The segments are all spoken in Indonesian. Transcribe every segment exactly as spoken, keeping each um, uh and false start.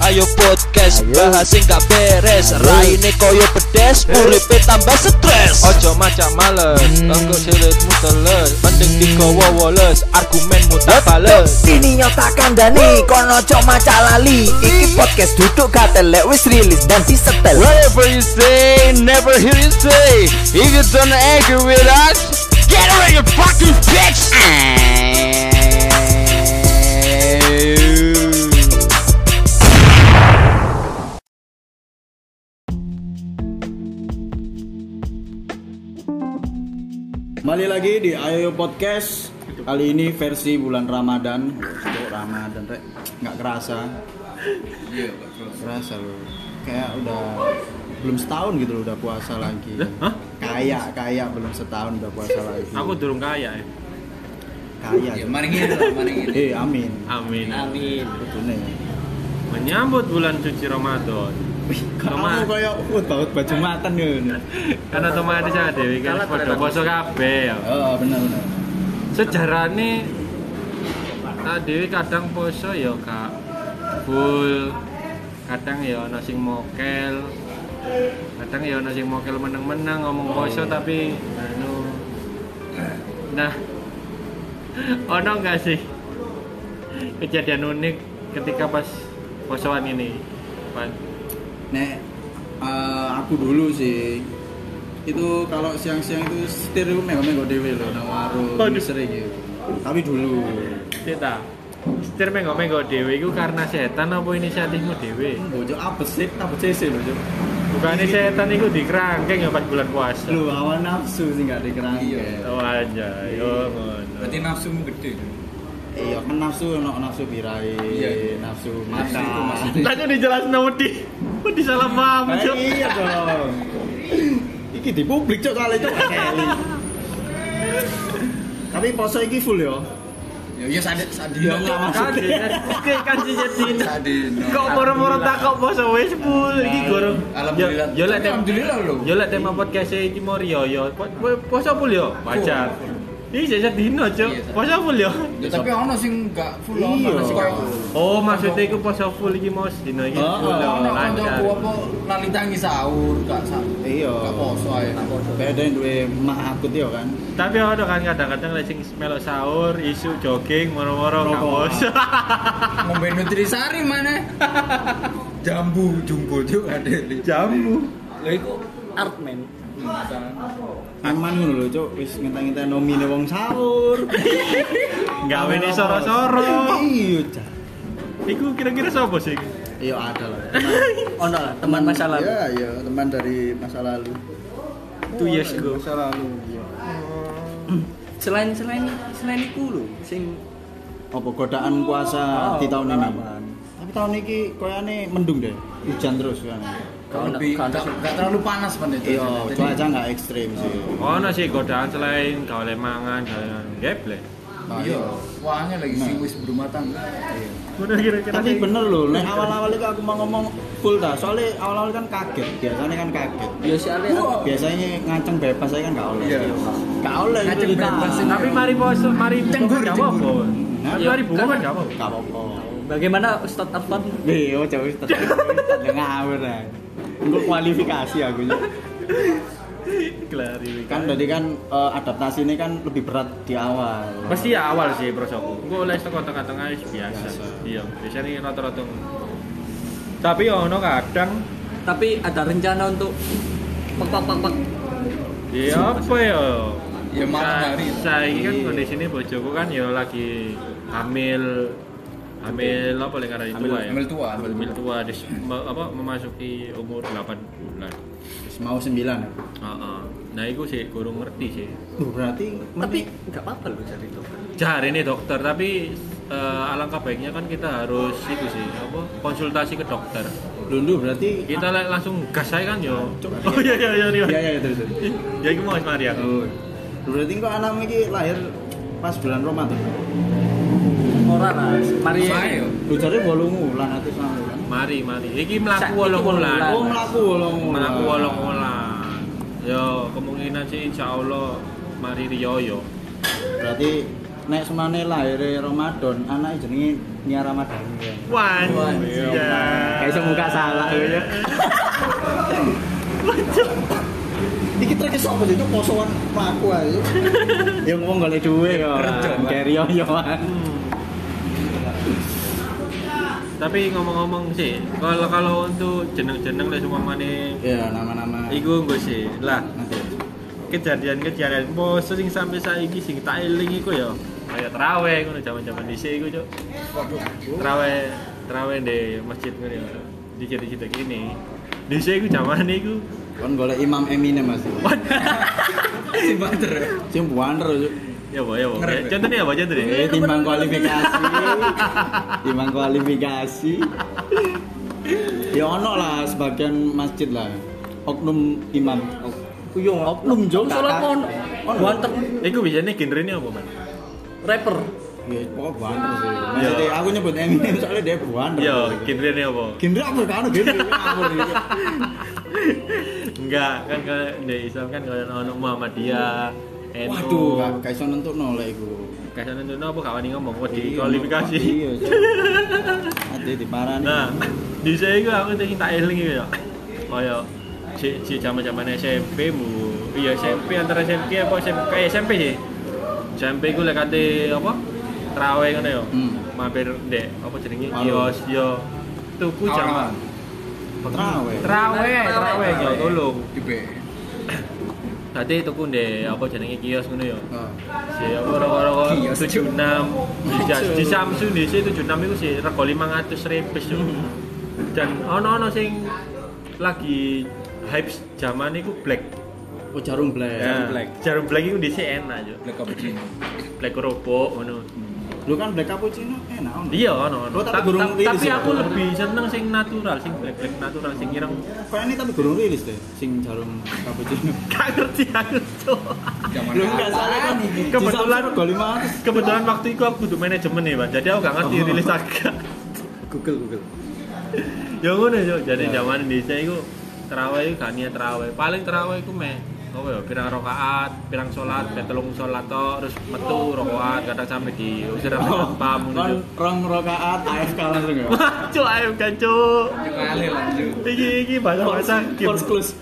Ayo podcast bahas sing gak beres. Raine koyo pedes, uripe tambah stres. Ojo macam males, engko silitmu teles. Mending digowo woles, argumenmu tak bales. Ini nyota kandani, kono ojo maca lali. Iki podcast duduk katelek wis rilis dan disetel. Whatever you say, never hear you say. If you don't agree with us, get away you fucking bitch. Kembali lagi di Ayo Podcast. Kali ini versi bulan Ramadan. Kok Ramadan rek? Nggak kerasa. Iya, nggak kerasa loh. Kayak udah belum setahun gitu loh udah puasa lagi. Hah? Kayak kayak belum setahun udah puasa lagi. Aku durung kaya ya. Kaya. Ya, mari ngene lah, mari ngene. Eh, amin. Amin. Amin. Betulnya. Menyambut bulan suci Ramadan. Kamu kayak ut baut baju matan ngono. Kan otomatis ada dewe kan padha poso kabeh ya. Oh, benar benar. Sejarahne dhewe kadang poso ya Kak. Full. Kadang ya ana sing mokel. Kadang ya ana sing mokel meneng-meneng ngomong poso tapi anu. Nah. Ono enggak sih kejadian unik ketika pas posoan ini? Pan. Nek uh, aku dulu sih itu kalau siang-siang itu setir itu mego-mego dewe loh nang warung sering gitu. Tapi dulu Kita setir menggo-menggo dhewe iku karena setan apa inisiatifmu dhewe? bojo apes sih, apes C C loh, Cuk. Bukannya setan iku dikerangkeng ya pas bulan puasa. Lu hawa nafsu sih enggak dikerangke. Oh aja, yo ngono. Berarti nafsumu gede. Iya, kan nafsu ono nafsu birahi, Iya. nafsu Nafsu itu makan. maksudnya. Tanya dijelasin wedi. Wedi salah paham, Nah, Cuk. iya dong. Iki di publik Cuk kali Cuk kali. Tapi poso iki full yo. Ya ya sadar sadar. Ya enggak Kan maksudnya. oke kan sih jadi. Sadar. Kok moro-moro takok poso wis full iki gorong. Alhamdulillah. Yo lek tem Alhamdulillah lho. yo lek tema podcast iki mori yo yo poso full yo. Wajar. Iki sesat dino, Cuk. Poso full yo. Ya tapi ono sing enggak full Iya. ono sing koyo Oh, maksudnya iku poso full iki mos dino iki Oh, full. oh, ono Lancar. kancaku apa lali tangi sahur gak sa. Iya. Gak poso ae nang poso. Beda yang duwe mah akut yo kan. Tapi ada kan kadang-kadang lek sing melok sahur, isu jogging, moro-moro gak Rokok. poso. Ngombe nutrisari mana? Jambu jumbo juga ada. Jambu. Lha iku artmen. Aman ngono lho, Cuk. Wis ngenteng-ngenteng nomine wong sahur. Gawe ni soro-soro. Iya, Cak. Iku kira-kira sapa sih? Iya, ada lah. Ono lah teman masa lalu. Iya, iya, teman dari masa lalu. Two years ago. Masa lalu. Iya. Selain selain selain iku lho sing Apa godaan puasa di tahun ini? Tapi tahun ini koyane mendung deh. Hujan terus kan. Gak lebih gak gak terlalu panas pan itu. Iya, cuaca nggak ekstrim sih. Ono sih godaan selain gawe mangan, gawe geblek. Iya. Wahnya lagi sing wis berumah tangga. Iya. Udah kira-kira Tapi sih. bener loh, nek awal-awal itu aku mau ngomong full dah. Soalnya awal-awal kan kaget, biasanya kan kaget. ya soalnya Biasanya ngaceng bebas saya kan nggak oleh. Iya. Nggak oleh itu Ngaceng ditahan. bebas. Tapi mari poso, mari Cenggur, gak apa-apa. cenggur. Tapi mari bunga kan gak apa-apa. Nggak apa-apa. bagaimana Ustadz Afwan Iya, jauh tetap tetap ngawur lah. Untuk kualifikasi aku ya. Klarifikasi. Kan tadi kan eh, adaptasi ini kan lebih berat di awal. Pasti ya awal sih prosoku. Gue oleh teko tengah-tengah wis biasa. Biasa. Iya, biasanya rata-rata. Tapi ono kadang tapi ada rencana untuk pak pak pak pak ya apa ya? Ya malam Sa- hari. Saiki kan kondisi ini bojoku kan ya lagi hamil hamil apa lek ngaran itu Hamil- ya? hamil tua. Hamil tua dis, me- apa memasuki umur delapan bulan. Terus mau sembilan ya. Heeh. Nah, iku sih kurang ngerti sih. Uh, berarti tapi nggak apa-apa loh cari itu Jar ini dokter, tapi eh, alangkah baiknya kan kita harus itu sih, apa konsultasi ke dokter. dulu berarti Kita le- langsung gas aja kan yo. Oh iya iya iya. Iya iya. iya terus. terus. Ya iku mau Mas Maria. Oh. Berarti kok anakmu iki lahir pas bulan Ramadan. orang lah mari Saya. Lu jare wolung wulan atus nang kan. Mari mari. Iki mlaku Saiki wolong wolong wulan. wulan. Oh, mlaku wolung wulan. Mlaku wolong wulan. Yo kemungkinan sih insyaallah mari riyo yo. Berarti nek semane lahir Ramadan, anake jenenge Nia Ramadhani. Wan. Kayak iso muka salah ya. Iki trek sapa sih posoan aku ae. Ya ngomong golek duwe kok. Keri yo yo. Tapi ngomong-ngomong sih, kalau kalau untuk jeneng-jeneng lah semua mana, ya nama-nama. iku gue sih lah. Kejadian-kejadian bos sering sampai saiki sing tak eling iku ya. Kayak traweh ngono jaman-jaman dhisik iku, Cuk. Traweh, traweh di masjid ngono ya. Dikit-dikit gini. Dhisik iku jamane iku Kon golek Imam Eminem Mas. Si banter. Sing buaner yo. ya apa ya apa. Contohnya apa contohnya? Eh timbang kualifikasi. Timbang kualifikasi. Ya ono lah sebagian masjid lah. Oknum imam. Yo oknum jong salah kon. Buantek. Iku biasanya genrenya apa, Mas? Rapper. Ya pokok buaner sih. Maksudnya aku nyebut Eminem soalnya dia buaner. Yo, genrenya apa? Genre apa kan genre ngawur gitu. Enggak, kan kalau di Islam kan kalau ono Muhammadiyah, N U. Waduh, gak gak iso nentukno lek iku. Gak iso nentukno apa kawan ngomong kok di kualifikasi. Iya. Ade diparani. Nah, di saya iku aku tak tak eling iku ya. Kaya si si zaman-zaman S M P mu. Iya S M P antara S M P apa S M P kayak S M P sih. S M P iku lek kate apa? Traweh ngono ya. Hmm. Mampir ndek apa jenenge kios yo tuku jaman. Traweh. Traweh, traweh yo tolong. Di B. Tadi tuku ndek apa jenenge kios ngono ya. Heeh. Si apa ora-ora tujuh puluh enam di di Samsung di sini tujuh puluh enam itu sih rego lima ratus ribu yo. Dan ono-ono sing lagi hype zaman iku black. Oh jarum black. Ya, black. Jarum black iku dhisik enak yo. Black cappuccino. Black kerupuk ngono. Lu kan black cappuccino enak ono. Iya ono. Oh, tapi Ta- gurung ta- rilis Tapi ya? aku lebih seneng sing natural, sing black black natural sing ireng. Kayak ini tapi gurung rilis deh sing jarum cappuccino. Gak ngerti aku, Cuk. Zaman Lu enggak salah kan Kebetulan go lima ratus. Kebetulan waktu itu aku kudu manajemen ya, Pak. Jadi aku gak ngerti Oh. rilis agak. Google Google. Ya ngono yo, jadi zaman Indonesia iku tarawih gak niat tarawih. Paling tarawih iku meh apa ya pirang rakaat, pirang salat, telung salat tok terus metu rakaat kadang sampai di usir sampai pam ngono. Kon rong rakaat A F K langsung ya. Cuk ayo kan cuk. kali lanjut. Iki iki bahasa-bahasa First close.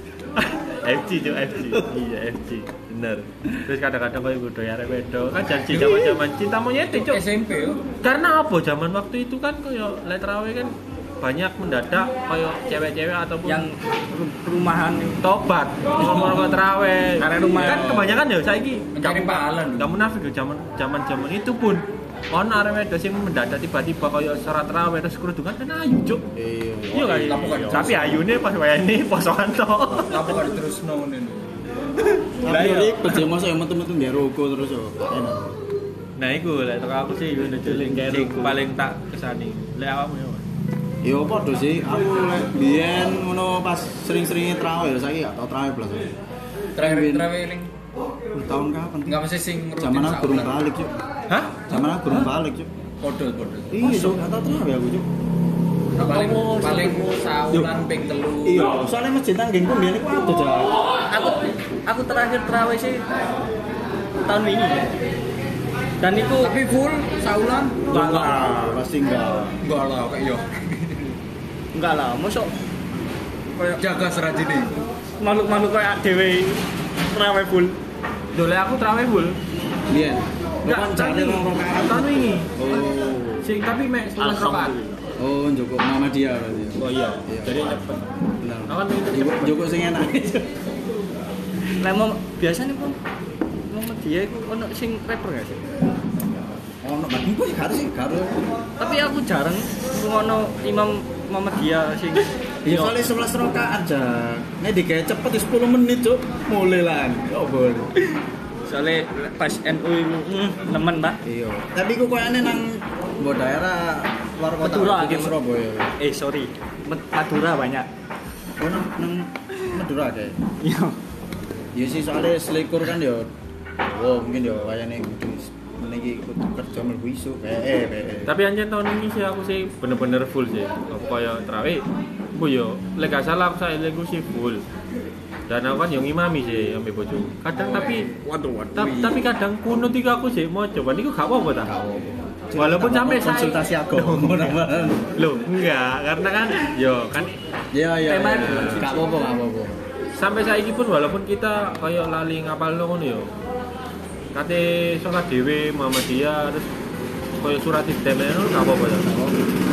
F C cuk F C. Iya F C. Bener. Terus kadang-kadang koyo kudu ya arek wedok kan janji zaman-zaman cinta monyet cuk. S M P yo. Karena apa zaman waktu itu kan koyo lek tarawih kan banyak mendadak koyo cewek-cewek ataupun Yang rumahan tobat ngomong-ngomong tarawih. Karena rumah- kan kebanyakan ya saiki Mencari pahala dulu. Enggak munafik ya zaman zaman-zaman itu pun ono arek wedok sing mendadak tiba-tiba koyo salat tarawih terus kerudungan kan ayu cuk. Iya. Iya kan? Lapo kan? Tapi ayune pas wayane posokan tok. Apa kok terus nongol ini? Lah iki kerja masa yang metu-metu nggak rokok terus yo. Enak. Nah iku lek teko aku sih yo sing paling tak kesani. Lek awakmu yo. Yo padha sih, aku lek biyen ngono pas sering-sering traweh saiki gak tau traweh blas. Terakhir traveling. Tahun kapan? Enggak mesti sing rutin. Zaman aku durung saulan. balik, Cuk. Hah? Zaman aku durung balik, Cuk. Podol podol. Iya, Cuk, gak tau traweh aku, Cuk. Paling paling saulan ping telu. Iya, soalnya masjid nang gengku biyen iku ado, Cuk. aku aku terakhir terawih sih tahun ini. Dan itu Tapi full saulan. Enggak lah, pasti enggak. Enggak lah kayak yo. enggak lah, mosok kayak Jaga serajine. makhluk-makhluk kayak dhewe terawih full. Lho lek aku traweh full. Biyen. Lu Enggak, kan jare rong rakaat. tahun ini. Oh. Sing tapi mek sebelas rakaat. Oh, Joko Muhammadiyah berarti. Oh iya. Iya. Jadi cepet. Benar. Aku kan pengen Joko, Joko sing enak. Lah mau biasanya kok mau dia iku ono sing rapper gak sih? Ono kan iku gak harus sih, gak harus. Tapi aku jarang ngono Imam Muhammadiyah sing Ya soalnya sebelas rakaat aja. Nek digawe cepet di sepuluh menit, Cuk. Mulai lah. Yo boleh. soalnya pas N U itu mm, nemen Pak. Iya. Tapi ku koyane nang mbok daerah luar kota Madura, di gitu. Surabaya. Eh sorry, Med- Madura banyak. Oh, nang nang Madura kayak. Iya. Ya sih soalnya selikur kan yo. Oh, mungkin yo kayane kudu meniki kudu kerja mlebu isu kayak eh. eh, eh. Tapi anjir tahun ini sih aku sih bener-bener full sih. Apa kaya tarawih Bu yo, lek gak salah aku saeling ku sih full. Dan aku kan yang ngimami sih ambek bojo. Kadang tapi Waduh, waduh. ta- tapi kadang kunut iki aku sih mau coba niku gak apa-apa ta. Walaupun sampai saya konsultasi agama. Loh, enggak, karena kan yo kan Iya iya. Tema- Enggak apa-apa, enggak apa-apa. sampai saiki pun walaupun kita kayak lali ngapalno ngono yo. Kate sholat dhewe Muhammadiyah terus koyo surat istimewa ngono gak apa-apa ta. Oh,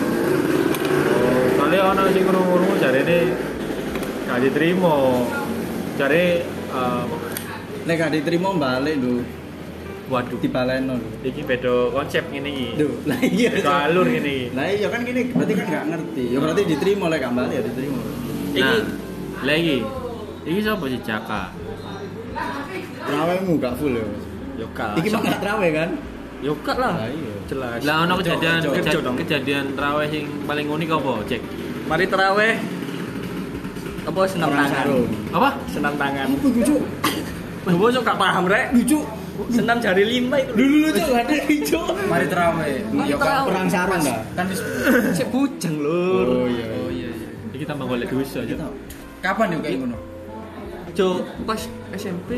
kali ana sing ngono-ngono jarene gak diterima. Jare eh, Nek gak diterima balik lho, waduh, dibaleno lho. iki beda konsep ngene iki. Duh, lah iya. Beda alur ngene iki. Lah iya kan gini, berarti kan gak ngerti. Ya berarti diterima lek gak balik ya diterima. Iki lagi. Iki sapa sih Jaka? Trawehmu gak full ya. Yo kak. Iki mah gak traweh kan? Yo kak lah. Lah iya. Jelas. Lah ono kejadian Kerja, kerja kejadian, dong. kejadian traweh sing paling unik apa, Cek? Mari terawih. Apa senam Orang tangan? sarung. Apa? Senam tangan. Apa gue cuk? Gue cok gak paham rek. Lucu. Senam jari lima itu. Dulu lucu ada lucu. Mari terawih. Mari Ya kan terawih. Perang sarung enggak? kan dis- Cek bujang lur. Oh iya. Oh iya iya. Iki tambah golek dosa aja. Kapan yuk kayak ngono? Cok pas S M P.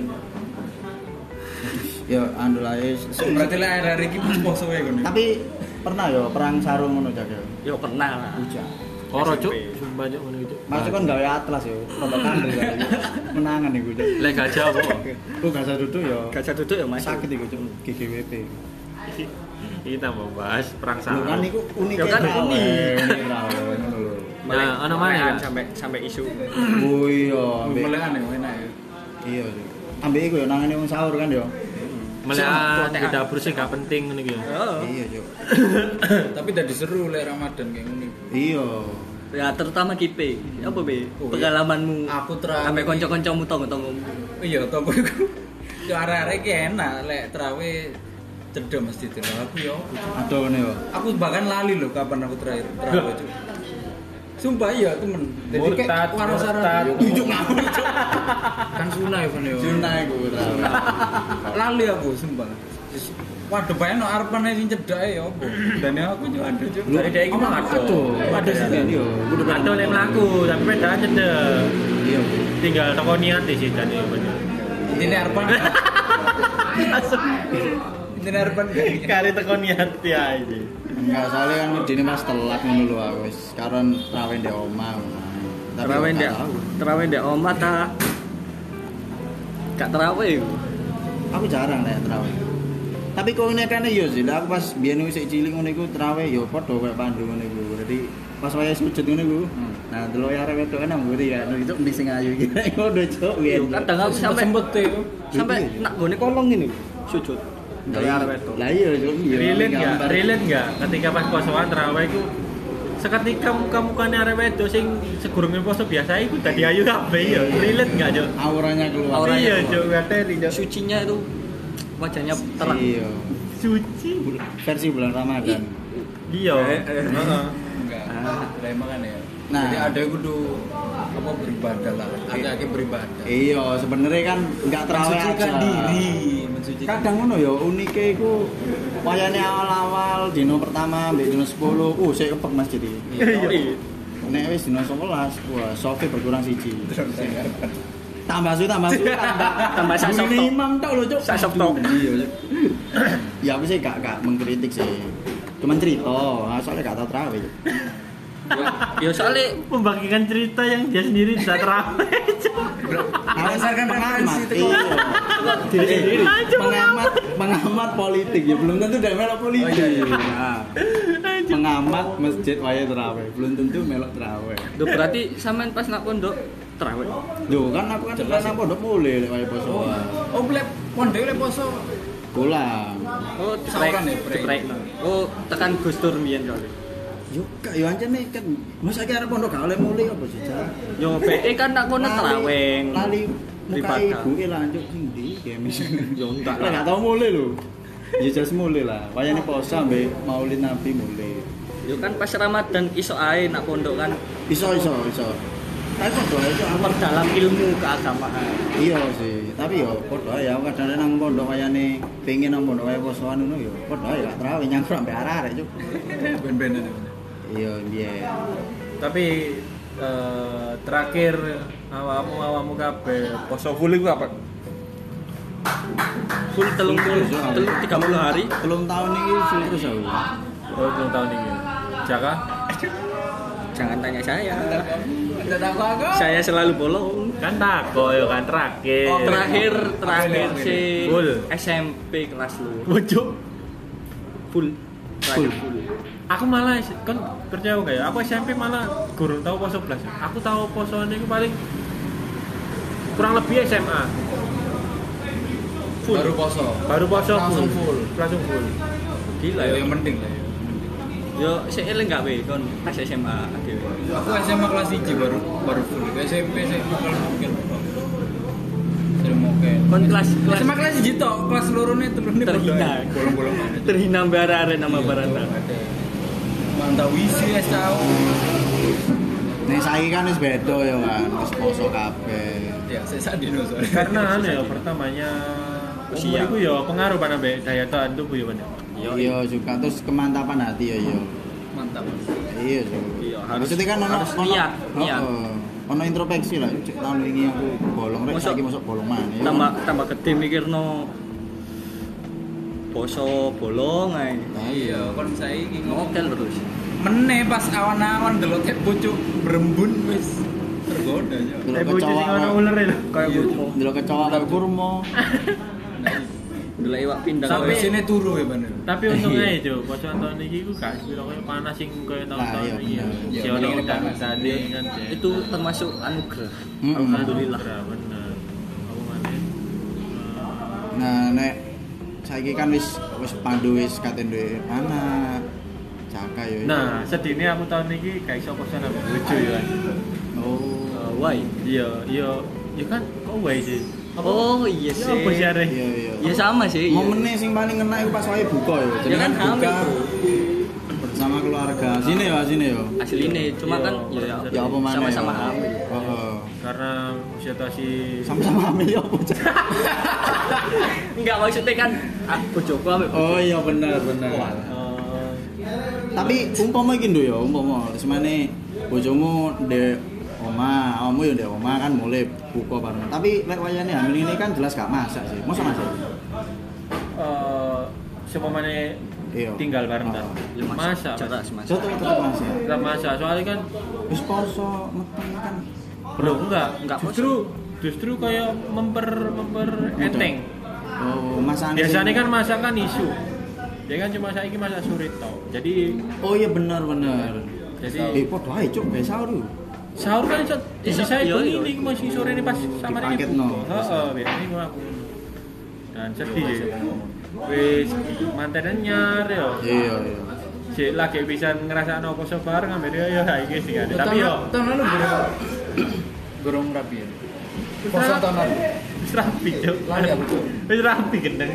Ya anu lah ya. Berarti lah akhir-akhir iki pas poso wae ngono. Tapi pernah ya perang sarung ngono Cak ya. Yo pernah lah. Ora, Cuk. Sumpah Cuk ngono iki, Cuk. Maksud kan gawe atlas ya, rodok kandel kan. Menangan iku Cuk. Lek gajah apa? Oh gak usah duduk ya. Gajah duduk ya mas. Sakit iku Cuk, G G W P. Iki tambah bahas perang Lho sarung. kan iku unik Ya kan traweh, unik. unik traweh, ngono lho. Nah, ono mana ya? sampai sampai isu. Oh iya, ambek Melekan ya enak ya. iya Cuk. Ambek iku ya nangane wong sahur kan ya. Melekan di dapur sing gak penting ngono iki. Oh. Iya Cuk. Tapi udah diseru lek Ramadan kayak ngono. Iya. Ya terutama kipe. Apa be? Oh, iya. Pengalamanmu. Aku terawih. Sampai konco-koncomu tonggo-tonggomu. Iya, toko iku. Yo arek-arek ki enak lek terawih cedek masjid itu. Aku yo. Ada ngene ya. Aku bahkan lali loh kapan aku terakhir terawih Cuk. Sumpah iya temen. Jadi Murtad, kayak waras murtad. Tunjuk ngawur Cuk. Kan sunah ya Van yo. Sunah iku traweh. Lali aku sumpah. Terus, waduh bayang no arepan sing cedek ya opo. Dan aku juga ada Cuk. Dari dia iki mah ado. Ada sih kan yo. Ado lek mlaku, tapi pedaan cedek. Iya. Tinggal toko niat di sini tadi bener. Ini arepan. Ini arepan kayak Kari teko niat ya iki. Enggak soalnya kan medine pas telat ngono lho aku wis karon traweh ndek omah. Tapi Terawih nggak ndak? tahu. Terawih ndak omah ta? Gak terawih. Aku jarang nek traweh. Tapi kok ini kan yo sih, lah aku pas biyen wis cilik ngono iku traweh yo padha koyo pandu ngono iku. Dadi pas waya sujud ngono iku. Nah, delok arek wedok enak ngerti ya. Nek itu ndi sing ayu iki. Ngono cuk biyen. Kadang aku sampai sempet tuh. sampai nak gone kolong ini sujud. Dari arep itu. Lah iya cuk. iya, Relate enggak? gambar. Relate enggak ketika pas posoan tarawih iku seketika muka-mukane arek wedok sing segurunge poso biasa iku dadi ayu kabeh ya. Relate enggak, Cuk? Auranya keluar. Auranya Iya, keluar. Cuk, ngateri, Cuk. Sucinya itu wajahnya terang. Iya. Suci. Versi bulan Ramadan. Iya. Heeh. Enggak. Lah emang kan ya. Nah. Jadi ada kudu apa beribadah lah. Agak-agak beribadah. Iya, sebenarnya kan enggak terawih aja. Mensucikan diri, mensucikan. Kadang ngono ya unike iku wayane awal-awal dino pertama mbek dino sepuluh, uh sik kepek masjid iki. Iya. Nek wis dino sebelas, wah sofe berkurang siji. Tambah su tambah su tambah Tambah sak sok Ini tok. imam tok lho, Cuk. Sak sok tok. Iya. Cuk. Ya aku sih gak gak mengkritik sih. Cuman cerita, ah, soalnya gak tau terawih. Cuk. Ya soalnya Membagikan cerita yang dia sendiri bisa terawih. Berdasarkan referensi itu. Iya. diri sendiri. Pengamat pengamat politik ya belum tentu dari melok politik. Oh, iya, iya. Nah, pengamat masjid waya terawih belum tentu melok terawih. Duh, berarti sampean pas nak pondok terawih. Yo kan aku kan Jelas tekan pondok mulai lek waya poso. Oh, boleh pondok lek poso. Pulang. Oh, Saukan ya, diprek. diprek. Oh, tekan Gus Dur mbiyen kali. Yo gak yo ancen nih kan masa ki arep pondok gak oleh mulai apa sih, Cak? Yo B E kan nak kono terawih. Lali muka Ibadah. ibu e lanjut sing ndi gemes. Yo enggak Lah lah. gak tau mulai lho. Ya jelas mulai lah. Wayane poso ambek Maulid Nabi mulai. Yo kan pas Ramadan iso ae nak pondok kan Iso iso iso. Tapi pondok itu aman. memperdalam ilmu keagamaan. Iya sih, tapi yo padha ae aku kadang nang pondok kayane pengin nang pondok kaya posoan ngono yo padha ae gak terawih nyangkruk ambek arek-arek cuk. Ben-benan. Iya, biyen. Tapi eh, terakhir awamu awamu kabeh poso full iku apa? Full telung puluh, telung tiga puluh hari. Belum tahun ini full terus aku. Oh, belum tahun ini. Jaka? Jangan tanya saya. Tidak tahu aku. Saya selalu bolong. Kan tako ya kan terakhir. Oh, terakhir terakhir si Full. S M P kelas lu. Bocok. Full. Terakhir full. Aku malah kan percaya enggak ya? Aku S M P malah gurung tahu poso blas. Aku tahu poso niku paling kurang lebih S M A. Full. Baru poso. Baru poso Langsung full. Langsung full. Gila Ya ya. yang penting lah ya. Yo sik eling gak we kon pas S M A dhewe. Aku S M A kelas satu baru baru full. S M P saya kelas mungkin. Saya mau ke. Kon kelas kelas S M A kelas satu tok, kelas lorone telune Terhina. bolong-bolongan. terhina bare nama baranda. Mantap wisi es tau. Nek saiki kan wis beda ya kan, wis poso kabeh. Ya, saya saat dino soalnya. Karena anu ya pertamanya usia itu ya pengaruh pada be daya tahan tubuh ya Pan. Iya juga terus kemantapan hati ya iya. Mantap. Iya juga. Iya, harus- Maksudnya kan ono harus ono niat, niat. Heeh. Ono introspeksi lah. Cek tahun ini aku bolong rek Mosok- saiki mosok bolong maneh. Tambah tambah gede mikirno poso bolong ae. Iya, kon saiki Ngokel terus. meneh pas awan-awan delok kayak pucuk berembun wis tergoda ya. Delok Eh bocah sing kecoa ono kok- uler lho. Kayak Iya. kurma. delok kecoa karo kurma. Delok iwak pindang. Sampai Tapi- sini turu ya bener. Tapi untungnya itu poso tahun iki ku gak sepiro koyo panas sing koyo Nah, tahun-tahun iya, iki. bener. Iya, Si ono bener. udan tadi kan. Cek. Itu termasuk anugerah. Mm-mm. Alhamdulillah. Bener. Aku maneh. Nah, nek saiki kan wis wis pandu wis katen duwe anak. Caka yo. Nah, sedine aku tahun iki gak iso poso nang bojo ya. Oh. Uh, why? Iya, iya, ya kan kok wae sih. Apa? Oh iya Ya apa sih sih. are? Iya iya. Ya sama sih. Iya. Momennya sing paling ngena iku pas wae buka ya. Jadi Ya kan buka hamil tuh. bersama keluarga. Sini ya, sini ya. Asli ini cuma Iya, kan ya, ya, Ya apa mana? sama-sama ya? hamil. Heeh. Karena situasi Sama-sama hamil ya apa? Cak? Enggak maksudnya kan ah, bojoku ambek Oh iya bener bener. eh, Tapi umpama iki nduk ya, umpama semane bojomu ndek oma, ommu yo ndek oma kan mulai buka bareng. Tapi lek wayane hamil ini kan jelas gak masak sih. Masa masak? eh sepemane Iya. tinggal bareng kan. Oh. Ya, Masa, jelas mas. Soto tetep masak. Tetap masa, soalnya kan Wis poso meteng kan. bro enggak, Enggak justru justru kayak memper memper enteng. Oh, masane. Biasanya sing- kan masak kan isu. Ya kan cuma saiki masak surit tau. Jadi Oh iya bener bener. jadi Eh podo ae cuk, gawe sahur lu. sahur kan iso Iso, bisa iya, itu iya. ini masih sore ini pas sama ini. Dipaketno. Heeh, biasanya gua aku. Dan sedih sih. Wis manten nyar yo. Iya iya. Si lagi bisa ngerasakno poso bareng ambek dia ya iki sih kan. Tapi yo tahun lalu berapa? Gorong rapi ya. Poso tahun lalu. wis rapi yo. Lali aku tuh. Wis rapi gendeng.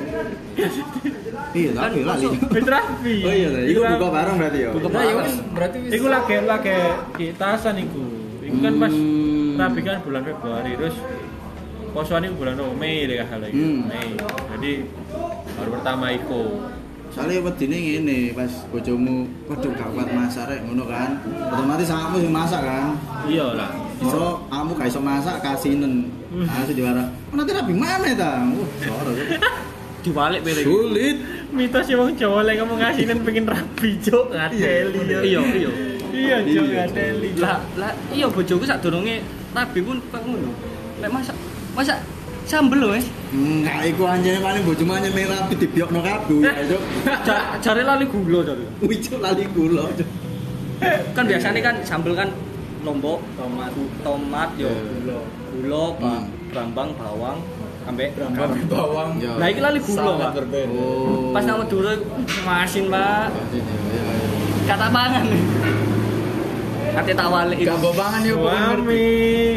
Iya, tapi lali. Wis rapi. Oh iya, iku buka bareng berarti ya. Buka Nah, ya bareng. wis berarti wis. Iku lagi lagi kitasan iku. Iku kan pas Hmm. rapi kan bulan Februari terus posoan iku bulan oh, Mei deh hal lagi. Hmm. Mei. Jadi baru pertama iku. Soalnya wedine ngene, pas bojomu waduh gak kuat masak rek ngono kan. Otomatis kamu sing masak kan. Iya lah. Iso kamu gak iso masak kasinen. Langsung diwara. Nanti rabi mana ta? Uh, soro. Diwalik piring. Sulit. Mitos ya wong Jawa lek kamu ngasihin pengen rapi cuk ngadeli. Iya, iya. Iya cuk Iya. ngadeli. Lah, lah iya bojoku sadurunge rabi pun kok ngono. Lek masak masak sambel lho, Mas. Enggak iku anjene paling bojomu anjene rapi dibiokno kabeh. Cuk. Ja- Jare lali gula jare. Wih, cuk lali kula. Cuk. Kan biasanya kan sambel kan lombok, tomat, tomat yo, Iya. gula, ba- Hmm. brambang, bawang, ambek Rambang bawang. Ya. Nah, iki lali gula, Sangat Pak. berbeda. Oh. Pas nama dulu masin, Pak. Iya, iya, iya. Kata pangan. Kate tak walik itu. Gak babangan ya Bu. Suami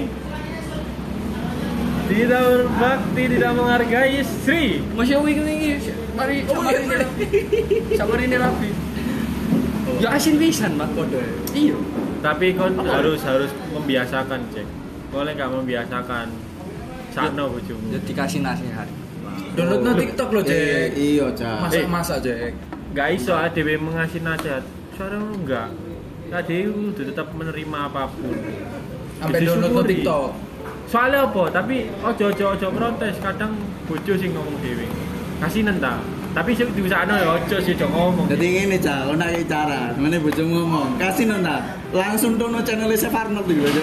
tidak berbakti, tidak menghargai istri. Masih wingi wingi mari sama ini. Sama ini rapi. Ya asin pisan, Pak. Kode. Iya. Tapi kon harus harus membiasakan cek. Boleh nggak membiasakan sakno bojomu. Ya dikasih nasihat. Download no TikTok lo, Eh, Cek. Iya, Cak. Masak-masak, Cek. Gak iso adewe mengasih nasihat. Sekarang enggak. tadi udah tetap menerima apapun. Sampai Jadi download syukuri. TikTok. Soalnya apa? Tapi ojo ojo ojo protes. Kadang bojo sing ngomong dhewe. Kasih nenta. Tapi sing diusahno ya ojo sih ojo ngomong. Jadi ngene Cak, ono iki cara. Mene bojo ngomong, kasih nonton. Langsung tono channel Sevarno iki bojo.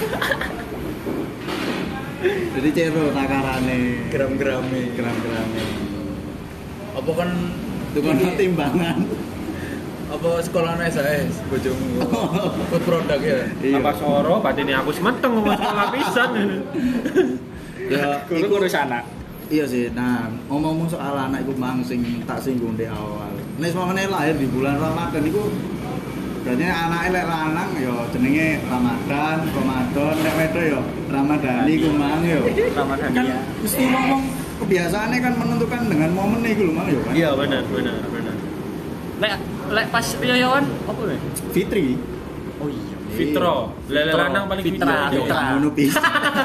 Jadi cero takarane, Gram-grame. gram-grame. Apa kan Tukang ini- timbangan. apa sekolah S A S bojomu food product ya. Iya. Apa soro batine aku semeteng ngomong sekolah pisan. Ya, Kulo iku ngurus anak. iya sih. Nah, ngomong-ngomong soal anak iku mang sing tak singgung di awal. Nek semene lahir di bulan Ramadan iku berarti anake lek lanang ya jenenge Ramadan, Ramadan, lek wedok ya Ramadhani ku mang ya. Ramadan Kan ya. mesti ngomong kebiasaannya kan menentukan dengan momen iku lho mang ya kan. Iya benar benar benar. Lek lek pas yoyoan apa ya? Fitri. Oh iya. Fitro, lele lanang paling Fitra, fitro. Fitra. Ngono pisan.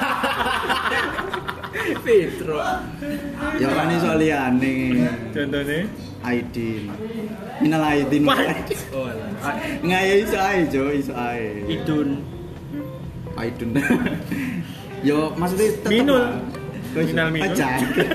Fitro. Ya kan iso liyane. Contohnya Aidin. Minal Aidin. Oh alah. Ngayo iso ae, Jo, iso ae. Idun. Aidin. Yo maksudnya tetep Minul. lah. Terus Minal minul. aja.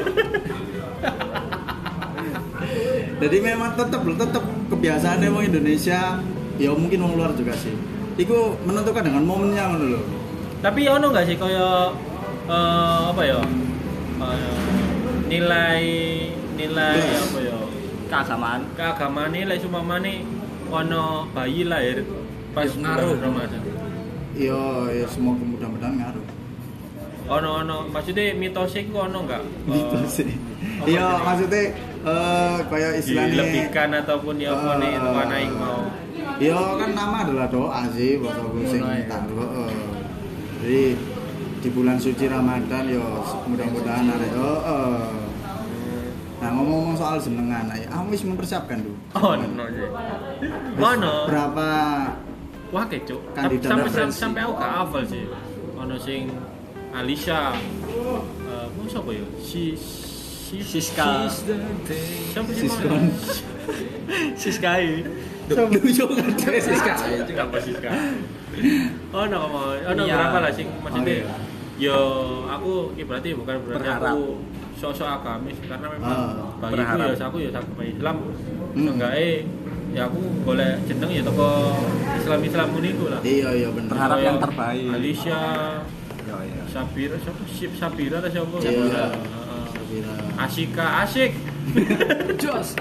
Jadi memang tetep tetep kebiasaannya wong Indonesia, ya mungkin wong luar juga sih. Iku menentukan dengan momennya ngono lho. Tapi ono nggak sih kaya eh, apa ya? Eh, nilai nilai Yes. apa ya? Keagamaan. Keagamaan nilai sumamane ono bayi lahir pas Ya, ngaruh. bulan Ramadan. Yo, ya semoga mudah-mudahan ngaruh. Ono ono maksudnya mitosnya ku ono nggak? Eh, Gitu sih. apa Iya, jenis? maksudnya eh kayak istilahnya dilebihkan ataupun ya apa nih itu anak yang mau. Yo kan nama adalah doa sih bahasa sing tangguh. heeh. Jadi di bulan suci Ramadan yo mudah-mudahan ada heeh. Nah ngomong-ngomong soal jenengan, ayo kamu wis mempersiapkan tuh. Oh no sih. Ono. Berapa Wah kecuk. Kandidat Sampai referensi. sampai aku gak hafal sih. Ono sing Alisha. Eh, mau siapa ya? Si si Siska. Siapa sih? Siskon? Siskai. Lucu kan Siska. Siapa Siska? Oh no, mau, oh no Iya. berapa lah sih? Maksudnya, Oh, iya. yo aku ini berarti bukan berarti Berharap. aku sosok agamis karena memang Ah, bagiku berharap. ya aku ya agama Islam. Hmm. Enggak eh ya aku boleh jeneng ya toko Islam Islam muniku lah. Iya iya bener. Berharap Kayak yang terbaik. Alicia, Yo iya. Sabira, siapa? Sip Sabira atau siapa? Iya. Heeh. Sabira. Asika, asik. Jos.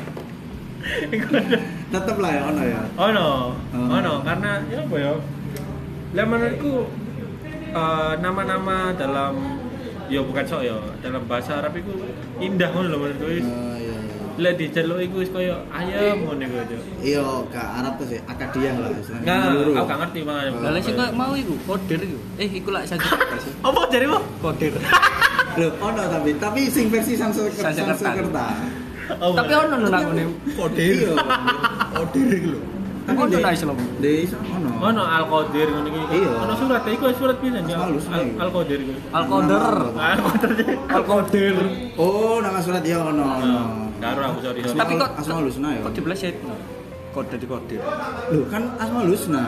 Tetep lah ya ono ya. Oh no, Oh. oh no, karena ya apa ya? Lah menurutku eh, nama-nama dalam ya bukan sok ya, dalam bahasa Arab itu indah ngono lho menurutku. Eh, iya iya. Lah diceluk iku wis koyo ayam ngono iku aja. Iya, gak Arab tuh sih, akadiah lah istilahnya. Nggak, Menyeluruh. aku gak ngerti makanya. Oh. Lah lek sing koyo mau iku kodir iku. Eh iku lak saja sih. Apa jarimu? Kodir. Loh, ono tapi tapi sing versi Sansekerta. Sansekerta. Sansekerta. Oh, Tapi ono lho nang ngene. Kodir. Kodir iki lho. Tapi Ono di- nang Islam. di ono. ono Al-Qadir ngono iki. Iya. Ono surat iku surat pisan ya. Asmaul Husna iku. Al-Qadir iku. Al-Qadar. Al-Qadir. Al-Qadir. Oh, nama surat ya ono ono. Karo aku sorry. sorry. Tapi kok Asmaul Husna ya. Kok dibleset. Kode di kodir. Loh, kan Asmaul Husna.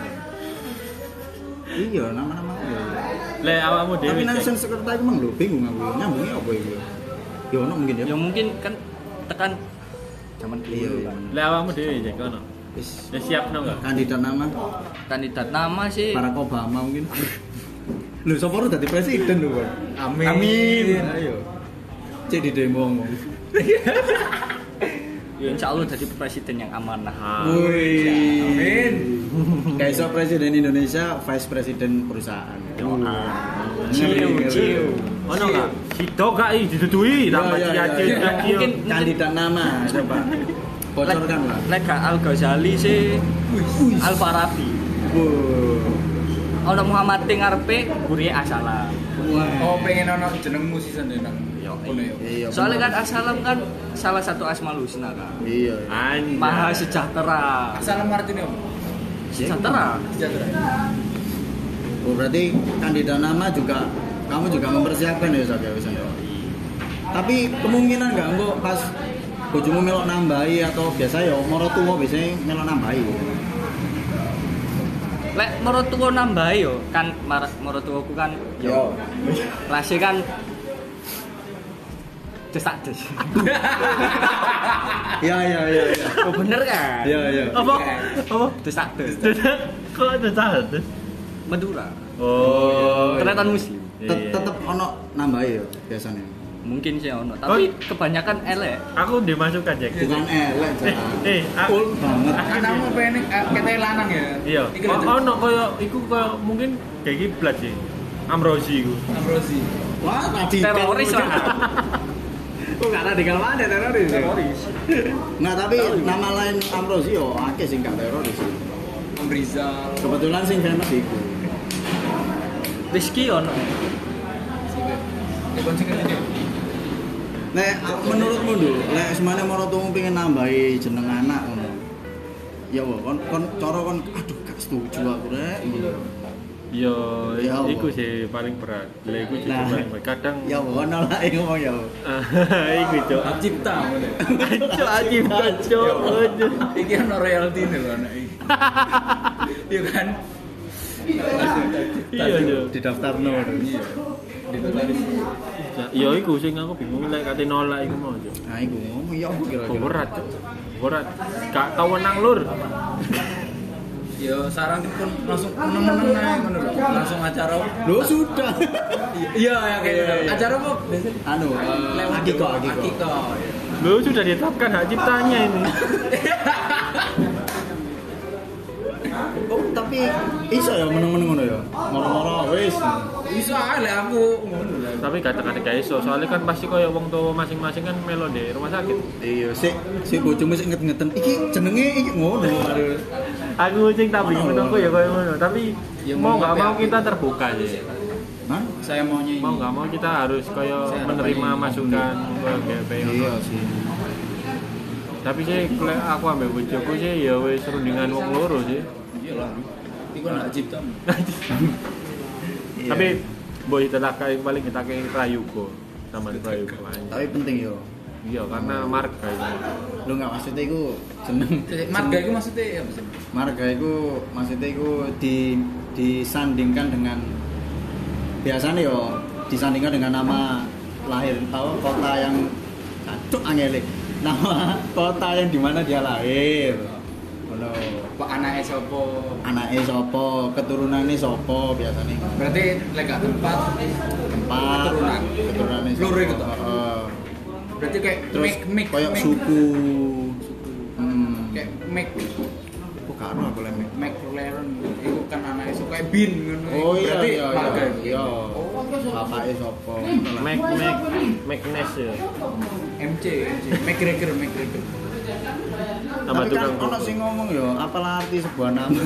Iya, nama-nama ya. Le awakmu Tapi dhewe. nang cek. Sansekerta iku mang lho bingung aku. Nyambungnya apa iku? Ya ono mungkin ya. Ya mungkin kan tekan zaman Iya, dulu iya. kan. Le awakmu dhewe cek kono. Wis Ya siap no enggak? kandidat nama Kandidat nama sih Barack Obama mungkin. Lho, sapa ora dadi presiden lho, Bang? Amin. Amin. Ayo. Cek di demo ngomong. ya insya Allah jadi presiden yang amanah. Wih. Amin. Kayak so presiden Indonesia, vice presiden perusahaan. Ciu, ciu. Ono enggak? Sido gak i didudui tambah Iya, iya, ciaci iya. dan ciu. Mungkin Kandidat nama coba. Bocorkan lah. Lek gak Al Ghazali sih Al Farabi. Wow. Ono Muhammad Ting ngarepe gurih asalam. Oh pengen ono jenengmu sih sen nang. Yo, kono ya. Iya. Soalnya kan bener. asalam kan salah satu asmaul husna kan. Iya. iya. Anjay. Maha sejahtera. Asal artinya apa? Sejahtera. Sejahtera. Oh, berarti kandidat nama juga kamu juga mempersiapkan ya Sak ya wis ya. Tapi kemungkinan enggak engko pas bojomu melok nambahi atau biasa ya moro tuwa biasanya melok nambahi. Lek merotuku nambah yo kan merotuku kan yo rase kan desak des. Ya ya ya ya. Oh bener kan? Ya ya. Apa? Apa? Desak des. Kok desak des? Madura. Oh. Ternyata muslim. Tet- Tetep ono nambahi ya biasanya. Mungkin sih ono, tapi kebanyakan elek. Aku dimasukkan Jack. Bukan elek, Eh, Cak. eh, aku Full banget. Anakmu pengen kete lanang ya. iya. Iki Oh, lho, ono koyo iku koyo mungkin kayak kiblat sih. Amrozi iku. Ambrosi. Wah, tadi Teroris lah. Kok gak radikal mana teroris? Teroris. Nah, tapi nama lain Amrozi yo akeh sing gak teroris. Om Rizal. Kebetulan sing famous iku. Rizky ono. Ya kon sing ngene. Nek menurutmu dulu, nek semane marotumu pengen nambahi jeneng anak ngono. Ya wah, kon kon cara kon aduh gak setuju aku rek. Yo, Ya Allah. iku sih paling berat. Lah iku sih Nah. paling berat. Kadang Ya wah, nolak ngomong ya. iku cok. Hak cipta ngene. Cok aji cok. Iki ono royalti nih lho anak iki. Iya kan? Iya cok. Di daftar no. Iya. Ditotalis. Ya iku sing aku bingung lek kate nolak iku mau cok. Nah, iku ngomong ya apa Kok kira-kira. berat cok. Berat. Gak tau menang lur. Yo sarang pun langsung meneng-meneng ae ngono lho. Langsung acara. Loh sudah. Iya ya kayak gitu. Iya. Acara apa biasanya? Anu, Lewat Akiko, Akiko. Akiko. Lu sudah ditetapkan hak ciptanya ini. Oh, tapi iso ya meneng-meneng ngono ya. Moro-moro wis. Iso ae lek aku ngono lho. Tapi kadang-kadang gak iso, soalnya kan pasti koyo wong tua masing-masing kan melo di rumah sakit. Iya, sik sik bojomu sik nget-ngeten. Iki jenenge iki ngono. Aduh. Aku sing tak bingung aku ya koyo ngono, tapi Ya, mau mau nggak apa mau ya? kita terbuka sih. Hah? Saya maunya ini. Mau nggak mau kita harus koyo Saya menerima harus masukan ke G P. Iya sih. Tapi sih lek aku ambek bojoku sih ya wis rundingan wong loro sih. Iya lah. Iku hak cipta. Iya. Tapi boy tetap kayak paling kita kayak Prayuga sama Prayuga aja. Tapi penting yo. Iya karena marga itu. Lu enggak maksudnya iku jeneng Marga iku maksudnya apa sih? marga iku maksudnya iku di disandingkan dengan biasanya yo disandingkan dengan nama lahir tahu kota yang cacuk angele nama kota yang dimana dia lahir ngono Kok anake sapa? anake sapa keturunane sapa biasanya Berarti lek gak tempat tempat Keturunan. keturunane sapa. Lur iku toh? Heeh. berarti kayak Terus make make kayak make- suku hmm kayak make kok karo aku lek make. make Leron iku kan anake suka kayak bin ngono. Oh iya Berarti iya marga iya. iku. Iya. Oh, Bapake sapa? Mac Mac Macness ya. M C M C McGregor McGregor. Sama Tapi kan tukang ono koko. sing ngomong yo, apalah arti sebuah nama.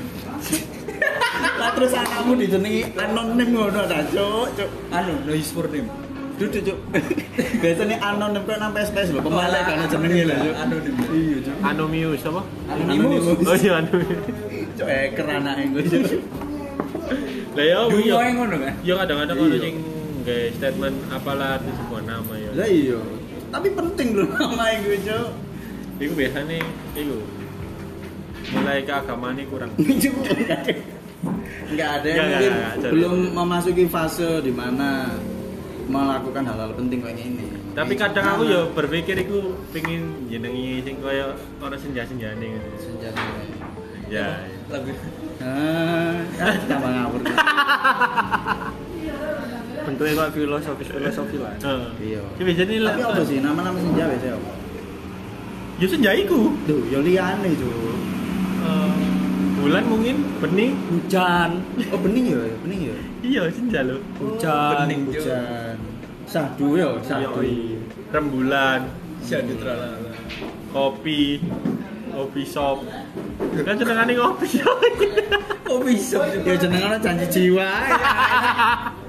Lah terus anakmu dijenengi anonim ngono ta, Cuk. Cuk. Anu no his for name. Duduk, Cuk. Biasanya anonim kok nang P S P S lho, pemalek kan jenenge lho, Cuk. Anonim. Iya, Cuk. Anomius apa? Anonymous. Oh iya Anomius. Cuk, eker anake gue, Cuk. Lah ya Dulu iya. ae ngono kan. Ya kadang-kadang ono Iya. sing gawe statement apalah arti sebuah nama ya. Lah iya. Tapi penting lho nama iku, Cuk. Iku biasanya iku mulai keagamaan kurang. Cuk. Enggak ada yang Enggak, mungkin enggak, enggak. belum memasuki fase di mana melakukan hal-hal penting kayak ini. Tapi Kayak kadang aku anak. ya berpikir iku pengin jenengi sing kaya ora senja-senjane gitu. Senjata. Ya. Lagu Ah, ah, tambah ngawur. Bentuknya kayak filosofis filosofi lah. Heeh. Iya. Ki biasane lah. Tapi apa sih nama-nama senja biasanya apa? Ya senja iku. Duh, yo liyane, Cuk. Eh, bulan mungkin bening. Hujan, Oh, bening ya, bening ya. Iya senja lho. hujan. Bening. Hujan. Sahdu ya, sahdu. Yoi. Rembulan, Syadu tralala. kopi, kopi shop. Kan jenengane kopi shop. Oh bisa. Ya jenengane janji jiwa. ya.